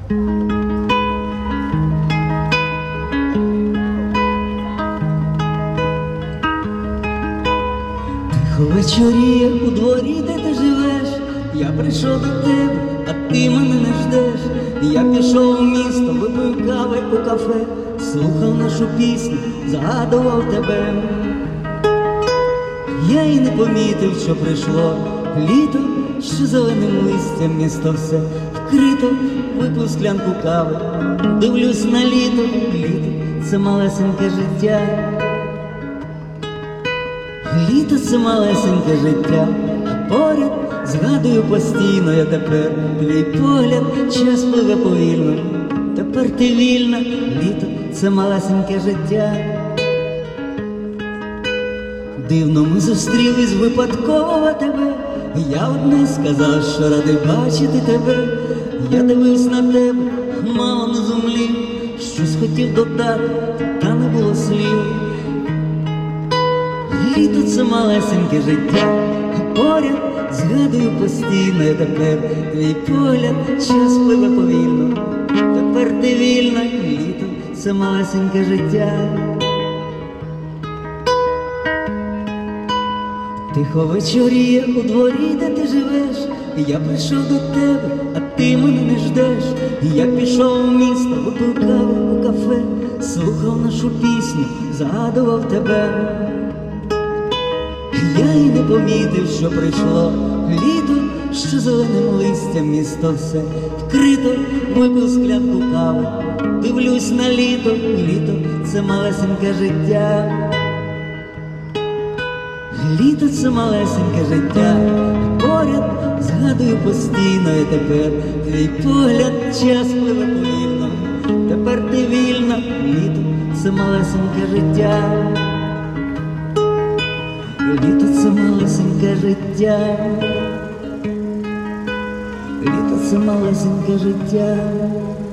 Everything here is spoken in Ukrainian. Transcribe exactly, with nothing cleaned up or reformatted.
Тихо вечоріє у дворі, де ти живеш, я прийшов до тебе, а ти мене не ждеш. Я пішов у місто, випив кави у кафе, слухав нашу пісню, згадував тебе. Я й не помітив, що прийшло літо, що зеленим листям місто все вкрито. Випив склянку кави, дивлюсь на літо, літо — це малесеньке життя. Літо — це малесеньке життя, а поряд згадую постійно я тепер твій погляд. Час пливе повільно, тепер ти вільна. Літо — це малесеньке життя. Дивно ми зустрілись випадково тебе, я одне сказав, що радий бачити тебе. Я дивився на тебе, мало не зумлів, щось хотів додати, та не було слів. Літо — це малесеньке життя, а поряд згадую постійно я тепер твій погляд. Час пливе повільно, тепер ти вільна. Літо — це малесеньке життя. Тихо вечоріє у дворі, де ти живеш, я прийшов до тебе, а ти мене не ждеш. Я пішов у місто, випив каву у кафе, слухав нашу пісню, згадував тебе. Я й не помітив, що прийшло літо, що зеленим листям місто все вкрито. Випив склянку кави, дивлюсь на літо, літо — це малесеньке життя. Літо — це малесеньке життя, поряд згадую постійно я тепер твій погляд. Час пливе повільно, тепер ти вільна. Літо — це малесеньке життя. Літо — це малесеньке життя. Літо — це малесеньке життя.